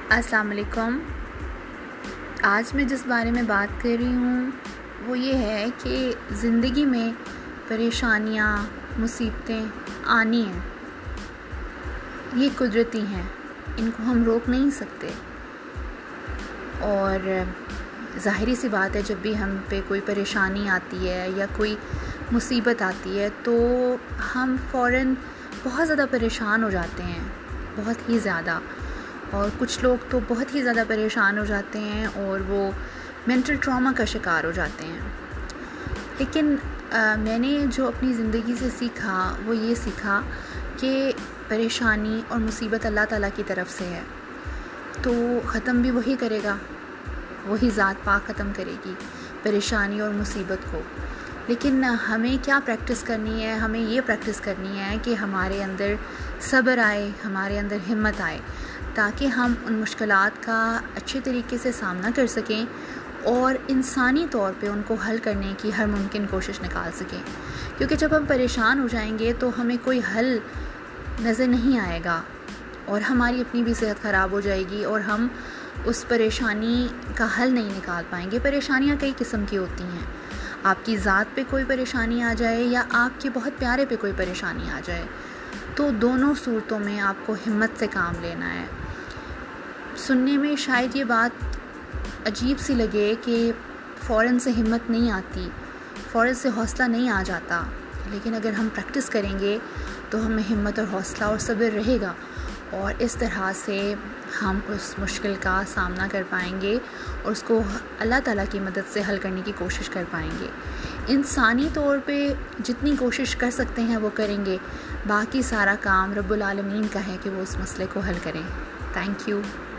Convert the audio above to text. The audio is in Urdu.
السلام علیکم۔ آج میں جس بارے میں بات کر رہی ہوں وہ یہ ہے کہ زندگی میں پریشانیاں، مصیبتیں آنی ہیں، یہ قدرتی ہیں، ان کو ہم روک نہیں سکتے۔ اور ظاہری سی بات ہے، جب بھی ہم پہ کوئی پریشانی آتی ہے یا کوئی مصیبت آتی ہے تو ہم فوراً بہت زیادہ پریشان ہو جاتے ہیں، بہت ہی زیادہ۔ اور کچھ لوگ تو بہت ہی زیادہ پریشان ہو جاتے ہیں اور وہ مینٹل ٹراما کا شکار ہو جاتے ہیں۔ لیکن میں نے جو اپنی زندگی سے سیکھا وہ یہ سیکھا کہ پریشانی اور مصیبت اللہ تعالیٰ کی طرف سے ہے، تو ختم بھی وہی کرے گا، وہی ذات پاک ختم کرے گی پریشانی اور مصیبت کو۔ لیکن ہمیں کیا پریکٹس کرنی ہے؟ ہمیں یہ پریکٹس کرنی ہے کہ ہمارے اندر صبر آئے، ہمارے اندر ہمت آئے، تاکہ ہم ان مشکلات کا اچھے طریقے سے سامنا کر سکیں اور انسانی طور پہ ان کو حل کرنے کی ہر ممکن کوشش نکال سکیں۔ کیونکہ جب ہم پریشان ہو جائیں گے تو ہمیں کوئی حل نظر نہیں آئے گا اور ہماری اپنی بھی صحت خراب ہو جائے گی اور ہم اس پریشانی کا حل نہیں نکال پائیں گے۔ پریشانیاں کئی قسم کی ہوتی ہیں، آپ کی ذات پہ کوئی پریشانی آ جائے یا آپ کے بہت پیارے پہ کوئی پریشانی آ جائے، تو دونوں صورتوں میں آپ کو ہمت سے کام لینا ہے۔ سننے میں شاید یہ بات عجیب سی لگے کہ فوراً سے ہمت نہیں آتی، فوراً سے حوصلہ نہیں آ جاتا، لیکن اگر ہم پریکٹس کریں گے تو ہمیں ہمت اور حوصلہ اور صبر رہے گا، اور اس طرح سے ہم اس مشکل کا سامنا کر پائیں گے اور اس کو اللہ تعالیٰ کی مدد سے حل کرنے کی کوشش کر پائیں گے۔ انسانی طور پہ جتنی کوشش کر سکتے ہیں وہ کریں گے، باقی سارا کام رب العالمین کا ہے کہ وہ اس مسئلے کو حل کریں۔ Thank you.